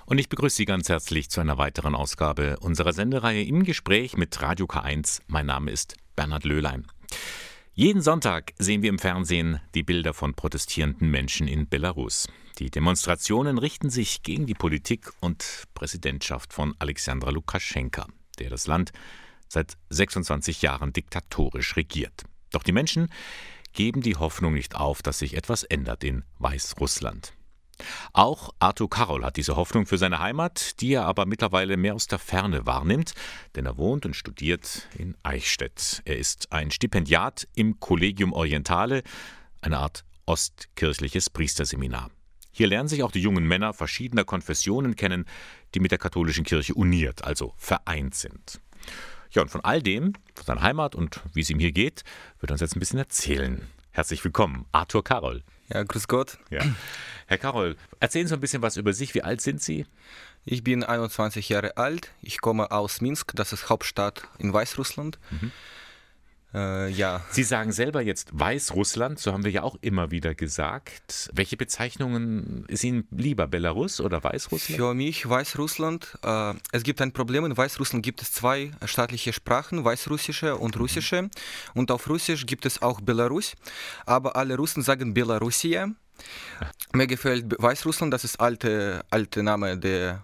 Und ich begrüße Sie ganz herzlich zu einer weiteren Ausgabe unserer Sendereihe Im Gespräch mit Radio K1. Mein Name ist Bernhard Löhlein. Jeden Sonntag sehen wir im Fernsehen die Bilder von protestierenden Menschen in Belarus. Die Demonstrationen richten sich gegen die Politik und Präsidentschaft von Alexander Lukaschenka, der das Land seit 26 Jahren diktatorisch regiert. Doch die Menschen geben die Hoffnung nicht auf, dass sich etwas ändert in Weißrussland. Auch Artur Karol hat diese Hoffnung für seine Heimat, die er aber mittlerweile mehr aus der Ferne wahrnimmt, denn er wohnt und studiert in Eichstätt. Er ist ein Stipendiat im Collegium Orientale, eine Art ostkirchliches Priesterseminar. Hier lernen sich auch die jungen Männer verschiedener Konfessionen kennen, die mit der katholischen Kirche uniert, also vereint sind. Ja, und von all dem, von seiner Heimat und wie es ihm hier geht, wird er uns jetzt ein bisschen erzählen. Herzlich willkommen, Artur Karol. Ja, grüß Gott. Ja. Herr Karol, erzählen Sie ein bisschen was über sich. Wie alt sind Sie? Ich bin 21 Jahre alt. Ich komme aus Minsk, das ist Hauptstadt in Weißrussland. Ja. Sie sagen selber jetzt Weißrussland, so haben wir ja auch immer wieder gesagt. Welche Bezeichnungen ist Ihnen lieber, Belarus oder Weißrussland? Für mich Weißrussland. Es gibt ein Problem. In Weißrussland gibt es zwei staatliche Sprachen, Weißrussische und Russische. Und auf Russisch gibt es auch Belarus. Aber alle Russen sagen Belarusia. Mir gefällt Weißrussland, das ist alte Name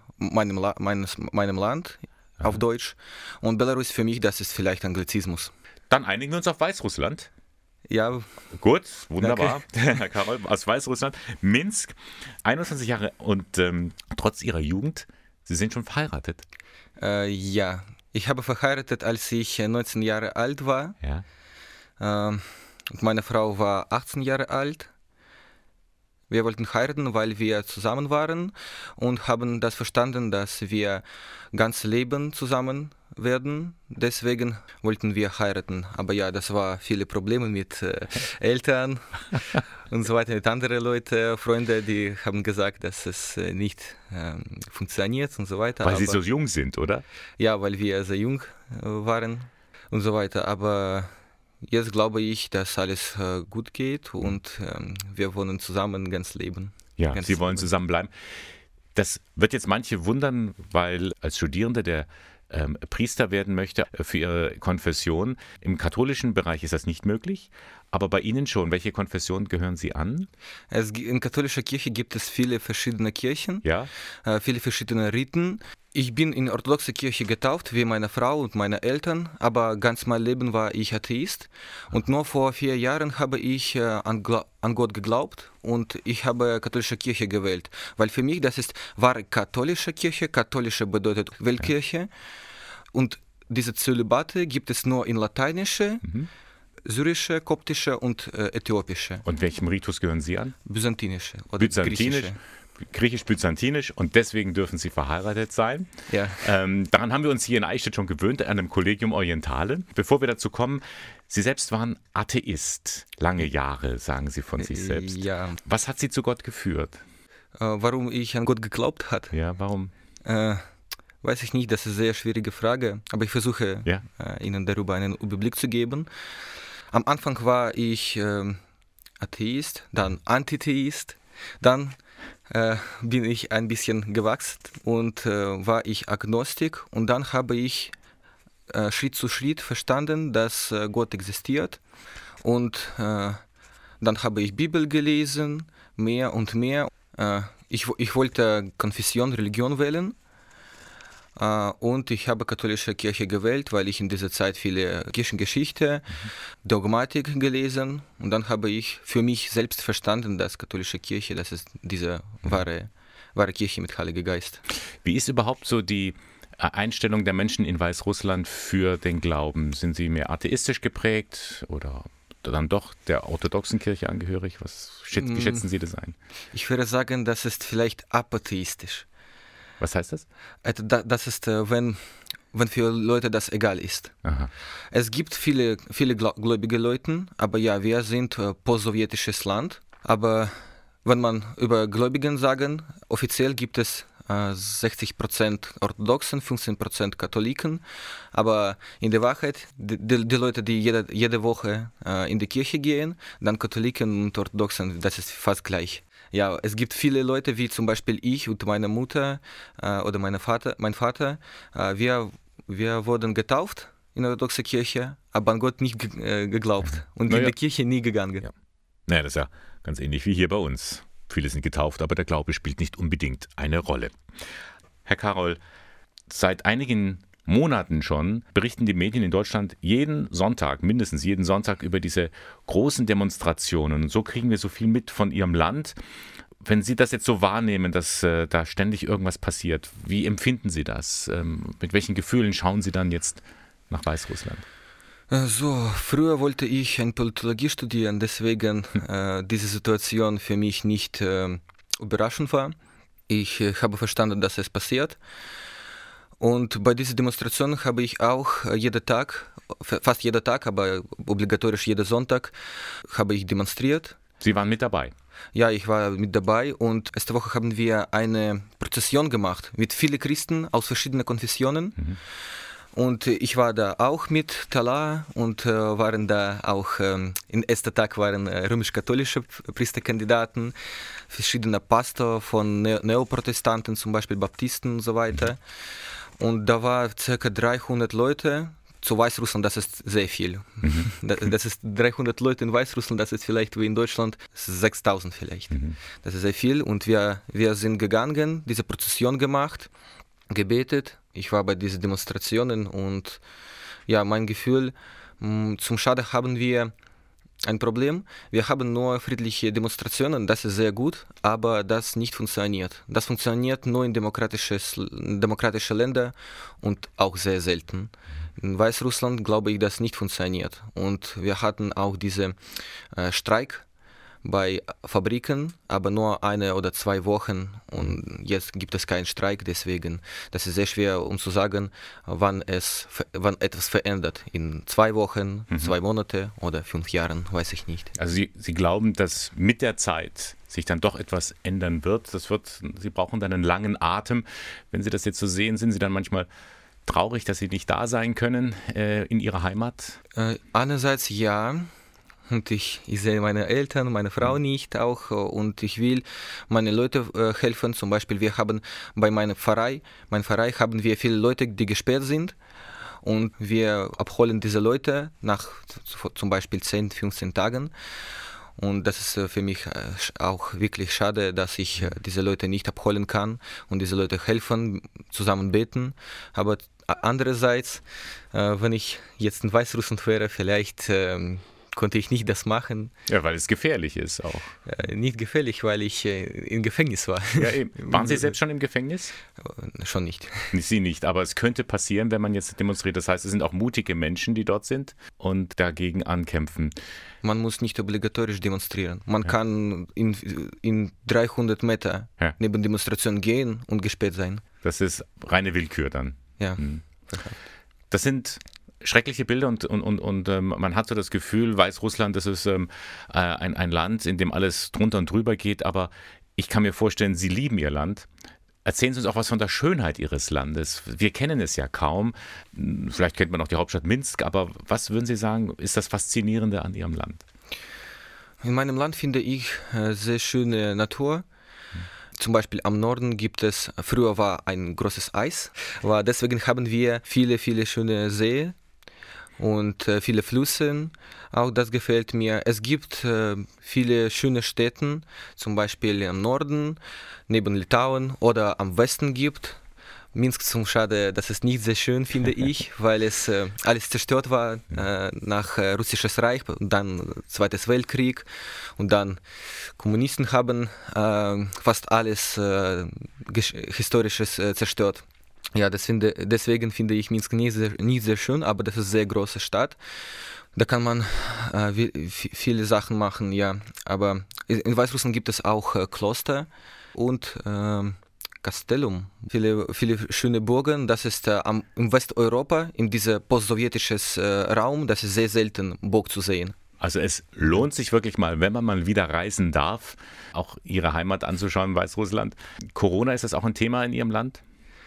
meinem Land auf Deutsch. Und Belarus für mich, das ist vielleicht Anglizismus. Dann einigen wir uns auf Weißrussland. Ja. Gut, wunderbar. Herr Karol aus Weißrussland. Minsk, 21 Jahre und trotz Ihrer Jugend, Sie sind schon verheiratet. Ja, ich habe verheiratet, als ich 19 Jahre alt war. Ja. Und meine Frau war 18 Jahre alt. Wir wollten heiraten, weil wir zusammen waren und haben das verstanden, dass wir ganz Leben zusammen werden. Deswegen wollten wir heiraten. Aber ja, das war viele Probleme mit Eltern und so weiter, mit anderen Leuten, Freunde, die haben gesagt, dass es nicht funktioniert und so weiter. Weil Sie so jung sind, oder? Ja, weil wir sehr jung waren und so weiter. Aber jetzt glaube ich, dass alles gut geht und wir wollen zusammen ganz leben. Ja, ganz Sie wollen zusammenbleiben. Das wird jetzt manche wundern, weil als Studierende der Priester werden möchte für ihre Konfession. Im katholischen Bereich ist das nicht möglich, aber bei Ihnen schon. Welche Konfession gehören Sie an? In katholischer Kirche gibt es viele verschiedene Kirchen, Ja? Viele verschiedene Riten. Ich bin in orthodoxe Kirche getauft, wie meine Frau und meine Eltern, aber ganz mein Leben war ich Atheist. Und nur vor 4 Jahren habe ich an Gott geglaubt und ich habe katholische Kirche gewählt. Weil für mich das ist wahre katholische Kirche. Katholische bedeutet Weltkirche. Und diese Zölibate gibt es nur in lateinische, syrische, koptische und äthiopische. Und welchem Ritus gehören Sie an? Byzantinische oder griechische. Griechisch-byzantinisch und deswegen dürfen Sie verheiratet sein. Ja. Daran haben wir uns hier in Eichstätt schon gewöhnt, an einem Collegium Orientale. Bevor wir dazu kommen, Sie selbst waren Atheist. Lange Jahre, sagen Sie von sich selbst. Ja. Was hat Sie zu Gott geführt? Warum ich an Gott geglaubt habe? Ja, warum? Weiß ich nicht, das ist eine sehr schwierige Frage, aber ich versuche Ihnen darüber einen Überblick zu geben. Am Anfang war ich Atheist, dann Antitheist, dann bin ich ein bisschen gewachsen und war ich Agnostik und dann habe ich Schritt zu Schritt verstanden, dass Gott existiert und dann habe ich Bibel gelesen, mehr und mehr. Ich wollte Konfession, Religion wählen. Und ich habe katholische Kirche gewählt, weil ich in dieser Zeit viele Kirchengeschichte, Dogmatik gelesen und dann habe ich für mich selbst verstanden, dass katholische Kirche, das ist diese wahre Kirche mit Heiliger Geist. Wie ist überhaupt so die Einstellung der Menschen in Weißrussland für den Glauben? Sind sie mehr atheistisch geprägt oder dann doch der orthodoxen Kirche angehörig? Wie schätzen Sie das ein? Ich würde sagen, das ist vielleicht apatheistisch. Was heißt das? Das ist, wenn für Leute das egal ist. Aha. Es gibt viele gläubige Leute, aber ja, wir sind postsowjetisches Land. Aber wenn man über Gläubigen sagen, offiziell gibt es 60% Orthodoxen, 15% Katholiken. Aber in der Wahrheit, die Leute, die jede Woche in die Kirche gehen, dann Katholiken und Orthodoxen, das ist fast gleich. Ja, es gibt viele Leute, wie zum Beispiel ich und meine Mutter oder mein Vater. Wir wurden getauft in der orthodoxen Kirche, aber an Gott nicht geglaubt und in die Kirche nie gegangen. Ja. Naja, das ist ja ganz ähnlich wie hier bei uns. Viele sind getauft, aber der Glaube spielt nicht unbedingt eine Rolle. Herr Karol, seit einigen Monaten schon berichten die Medien in Deutschland mindestens jeden Sonntag über diese großen Demonstrationen. Und so kriegen wir so viel mit von Ihrem Land. Wenn Sie das jetzt so wahrnehmen, dass da ständig irgendwas passiert, wie empfinden Sie das? Mit welchen Gefühlen schauen Sie dann jetzt nach Weißrussland? Früher wollte ich Politologie studieren, deswegen diese Situation für mich nicht überraschend war. Ich habe verstanden, dass es passiert. Und bei dieser Demonstration habe ich auch fast jeden Tag, aber obligatorisch jeden Sonntag, habe ich demonstriert. Sie waren mit dabei? Ja, ich war mit dabei und letzte Woche haben wir eine Prozession gemacht mit vielen Christen aus verschiedenen Konfessionen. Mhm. Und ich war da auch mit Talar und waren da auch, im ersten Tag waren römisch-katholische Priesterkandidaten, verschiedene Pastor von Neoprotestanten, zum Beispiel Baptisten und so weiter. Und da war ca. 300 Leute. Zu Weißrussland, das ist sehr viel. Mhm. Das ist 300 Leute in Weißrussland, das ist vielleicht wie in Deutschland 6.000 vielleicht. Mhm. Das ist sehr viel und wir sind gegangen, diese Prozession gemacht, gebetet. Ich war bei diesen Demonstrationen und ja, mein Gefühl, zum Schade haben wir ein Problem. Wir haben nur friedliche Demonstrationen, das ist sehr gut, aber das nicht funktioniert. Das funktioniert nur in demokratische Länder und auch sehr selten. In Weißrussland glaube ich, das nicht funktioniert. Und wir hatten auch diesen Streik bei Fabriken, aber nur 1 oder 2 Wochen und jetzt gibt es keinen Streik, deswegen das ist sehr schwer, um zu sagen, wann etwas verändert. In 2 Wochen, 2 Monate oder 5 Jahren, weiß ich nicht. Also Sie glauben, dass mit der Zeit sich dann doch etwas ändern wird? Sie brauchen dann einen langen Atem. Wenn Sie das jetzt so sehen, sind Sie dann manchmal traurig, dass Sie nicht da sein können in Ihrer Heimat? Einerseits ja. Und ich sehe meine Eltern, meine Frau nicht auch und ich will meine Leute helfen. Zum Beispiel wir haben bei meinem Verein haben wir viele Leute, die gesperrt sind und wir abholen diese Leute nach zum Beispiel 10, 15 Tagen. Und das ist für mich auch wirklich schade, dass ich diese Leute nicht abholen kann und diese Leute helfen, zusammen beten. Aber andererseits, wenn ich jetzt in Weißrussland wäre, vielleicht konnte ich nicht das machen. Ja, weil es gefährlich ist auch. Nicht gefährlich, weil ich im Gefängnis war. Ja, eben. Waren Sie selbst schon im Gefängnis? Schon nicht. Sie nicht, aber es könnte passieren, wenn man jetzt demonstriert. Das heißt, es sind auch mutige Menschen, die dort sind und dagegen ankämpfen. Man muss nicht obligatorisch demonstrieren. Man kann in 300 Meter neben Demonstration gehen und gesperrt sein. Das ist reine Willkür dann. Ja. Das sind schreckliche Bilder und man hat so das Gefühl, Weißrussland, das ist ein Land, in dem alles drunter und drüber geht, aber ich kann mir vorstellen, Sie lieben Ihr Land. Erzählen Sie uns auch was von der Schönheit Ihres Landes. Wir kennen es ja kaum. Vielleicht kennt man auch die Hauptstadt Minsk, aber was würden Sie sagen, ist das Faszinierende an Ihrem Land? In meinem Land finde ich sehr schöne Natur. Zum Beispiel am Norden früher war ein großes Eis, deswegen haben wir viele, viele schöne Seen und viele Flüsse. Auch das gefällt mir. Es gibt viele schöne Städte, zum Beispiel im Norden, neben Litauen oder am Westen gibt. Minsk zum Schade, das ist nicht sehr schön, finde ich, weil es alles zerstört war nach Russisches Reich und dann Zweites Weltkrieg und dann Kommunisten haben fast alles Historisches zerstört. Ja, deswegen finde ich Minsk nicht sehr schön, aber das ist eine sehr große Stadt. Da kann man viele Sachen machen, ja. Aber in Weißrussland gibt es auch Kloster und Castellum, viele schöne Burgen. Das ist in Westeuropa, in diesem postsowjetischen Raum, das ist sehr selten, Burg zu sehen. Also es lohnt sich wirklich mal, wenn man mal wieder reisen darf, auch Ihre Heimat anzuschauen, Weißrussland. Corona, ist das auch ein Thema in Ihrem Land?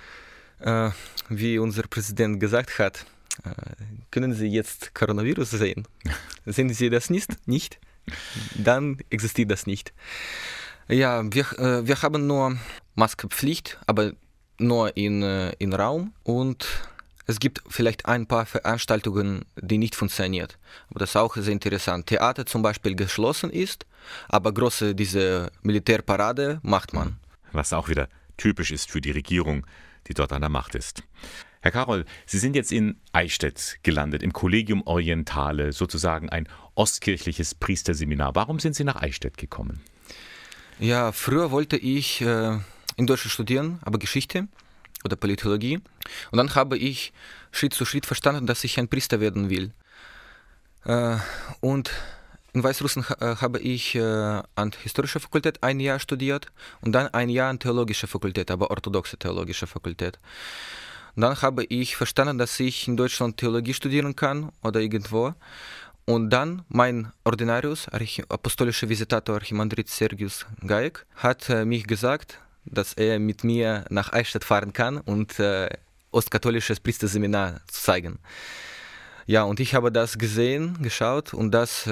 Wie unser Präsident gesagt hat, können Sie jetzt Coronavirus sehen? Sehen Sie das nicht? Dann existiert das nicht. Ja, wir haben nur Maskenpflicht, aber nur in Raum, und es gibt vielleicht ein paar Veranstaltungen, die nicht funktionieren. Aber das ist auch sehr interessant. Theater zum Beispiel geschlossen ist, aber diese Militärparade macht man. Was auch wieder typisch ist für die Regierung, die dort an der Macht ist. Herr Karol, Sie sind jetzt in Eichstätt gelandet, im Collegium Orientale, sozusagen ein ostkirchliches Priesterseminar. Warum sind Sie nach Eichstätt gekommen? Ja, früher wollte ich in Deutschland studieren, aber Geschichte oder Politologie. Und dann habe ich Schritt zu Schritt verstanden, dass ich ein Priester werden will. Und in Weißrussland habe ich an historischer Fakultät ein Jahr studiert und dann ein Jahr an theologischer Fakultät, aber orthodoxe theologische Fakultät. Und dann habe ich verstanden, dass ich in Deutschland Theologie studieren kann oder irgendwo. Und dann mein Ordinarius, apostolischer Visitator Archimandrit Sergius Gaik, hat mich gesagt, dass er mit mir nach Eichstätt fahren kann und ostkatholisches Priesterseminar zu zeigen. Ja, und ich habe das geschaut, und das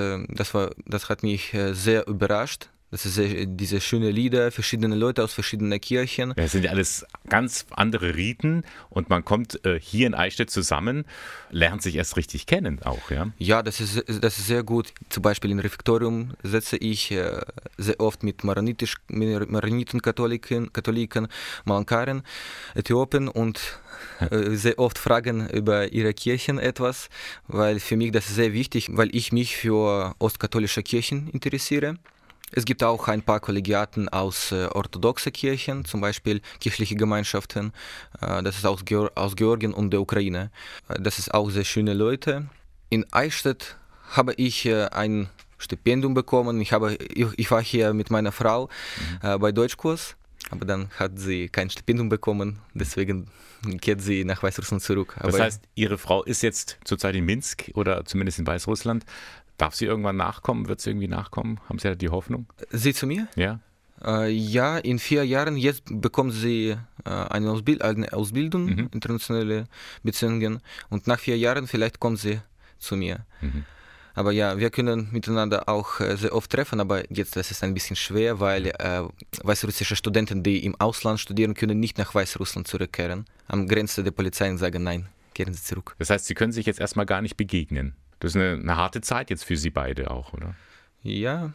hat mich sehr überrascht. Das ist diese schönen Lieder, verschiedene Leute aus verschiedenen Kirchen. Ja, es sind ja alles ganz andere Riten, und man kommt hier in Eichstätt zusammen, lernt sich erst richtig kennen auch, ja? Ja, das ist sehr gut. Zum Beispiel im Refektorium setze ich sehr oft mit Maroniten, Katholiken, Malankaren, Äthiopen, und sehr oft fragen über ihre Kirchen etwas, weil für mich das ist sehr wichtig, weil ich mich für ostkatholische Kirchen interessiere. Es gibt auch ein paar Kollegiaten aus orthodoxen Kirchen, zum Beispiel kirchliche Gemeinschaften. Das ist aus Georgien und der Ukraine. Das ist auch sehr schöne Leute. In Eichstätt habe ich ein Stipendium bekommen. Ich war hier mit meiner Frau bei Deutschkurs, aber dann hat sie kein Stipendium bekommen. Deswegen kehrt sie nach Weißrussland zurück. Das heißt, Ihre Frau ist jetzt zurzeit in Minsk oder zumindest in Weißrussland. Darf sie irgendwann nachkommen? Wird sie irgendwie nachkommen? Haben Sie da die Hoffnung? Sie zu mir? Ja. Ja, in 4 Jahren. Jetzt bekommt sie eine Ausbildung, internationale Beziehungen. Und nach 4 Jahren vielleicht kommt sie zu mir. Aber ja, wir können miteinander auch sehr oft treffen, aber jetzt das ist ein bisschen schwer, weil weißrussische Studenten, die im Ausland studieren, können nicht nach Weißrussland zurückkehren. Am Grenze der Polizei sagen, nein, kehren Sie zurück. Das heißt, Sie können sich jetzt erstmal gar nicht begegnen. Das ist eine harte Zeit jetzt für Sie beide auch, oder? Ja,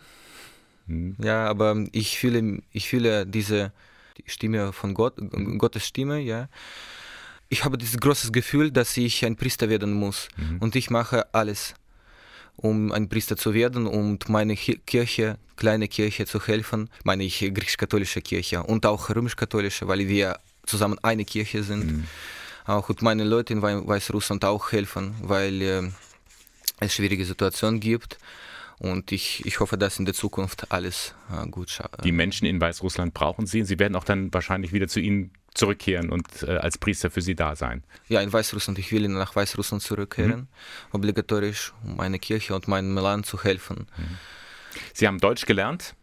ja, aber ich fühle die Stimme von Gott, Gottes Stimme, ja. Ich habe dieses große Gefühl, dass ich ein Priester werden muss. Und ich mache alles, um ein Priester zu werden und meine Kirche, kleine Kirche zu helfen, meine ich griechisch-katholische Kirche und auch römisch-katholische, weil wir zusammen eine Kirche sind. Auch und meine Leute in Weißrussland auch helfen, weil es schwierige Situationen gibt, und ich hoffe, dass in der Zukunft alles gut schafft. Die Menschen in Weißrussland brauchen Sie, und Sie werden auch dann wahrscheinlich wieder zu Ihnen zurückkehren und als Priester für Sie da sein. Ja, in Weißrussland. Ich will nach Weißrussland zurückkehren, obligatorisch, um meine Kirche und meinem Land zu helfen. Sie haben Deutsch gelernt.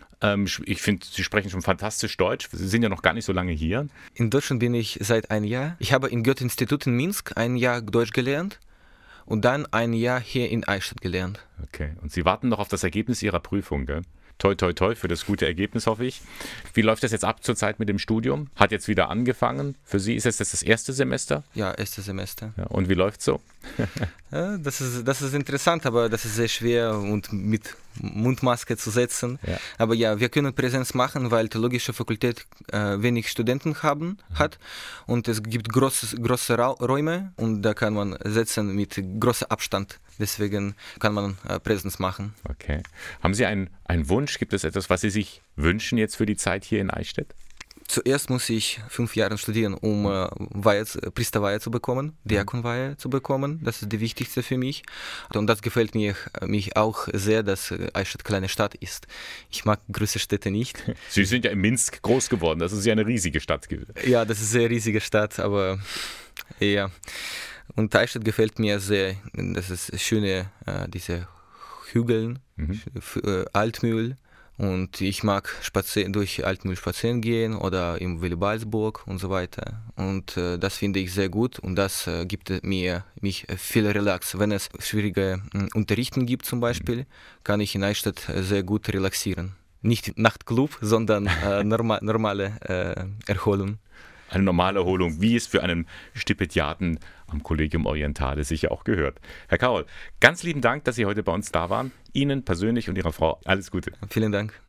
Ich finde, Sie sprechen schon fantastisch Deutsch. Sie sind ja noch gar nicht so lange hier. In Deutschland bin ich seit einem Jahr. Ich habe im Goethe-Institut in Minsk ein Jahr Deutsch gelernt. Und dann ein Jahr hier in Eichstätt gelernt. Okay, und Sie warten noch auf das Ergebnis Ihrer Prüfung, gell? Toi, toi, toi für das gute Ergebnis, hoffe ich. Wie läuft das jetzt ab zurzeit mit dem Studium? Hat jetzt wieder angefangen. Für Sie ist es jetzt das erste Semester? Ja, erste Semester. Ja, und wie läuft es so? Ja, das ist interessant, aber das ist sehr schwer und mit Mundmaske zu setzen. Ja. Aber ja, wir können Präsenz machen, weil die theologische Fakultät wenig Studenten hat, und es gibt große Räume, und da kann man sitzen mit großem Abstand. Deswegen kann man Präsenz machen. Okay. Haben Sie einen Wunsch? Gibt es etwas, was Sie sich wünschen jetzt für die Zeit hier in Eichstätt? Zuerst muss ich 5 Jahre studieren, um Priesterweihe zu bekommen, Diakonweihe zu bekommen. Das ist die wichtigste für mich. Und das gefällt mich auch sehr, dass Eichstätt eine kleine Stadt ist. Ich mag große Städte nicht. Sie sind ja in Minsk groß geworden. Das ist ja eine riesige Stadt. Ja, das ist eine sehr riesige Stadt, aber ja. Und Eichstätt gefällt mir sehr. Das ist schöne, diese Hügel, Altmühl. Und ich mag durch Altmühl spazieren gehen oder im Willibaldsburg und so weiter. Und das finde ich sehr gut, und das gibt mich viel Relax. Wenn es schwierige Unterrichten gibt zum Beispiel, kann ich in Eichstätt sehr gut relaxieren. Nicht Nachtclub, sondern normale Erholung. Eine normale Erholung, wie es für einen Stipendiaten am Collegium Orientale sicher auch gehört. Herr Kaul, ganz lieben Dank, dass Sie heute bei uns da waren. Ihnen persönlich und Ihrer Frau alles Gute. Vielen Dank.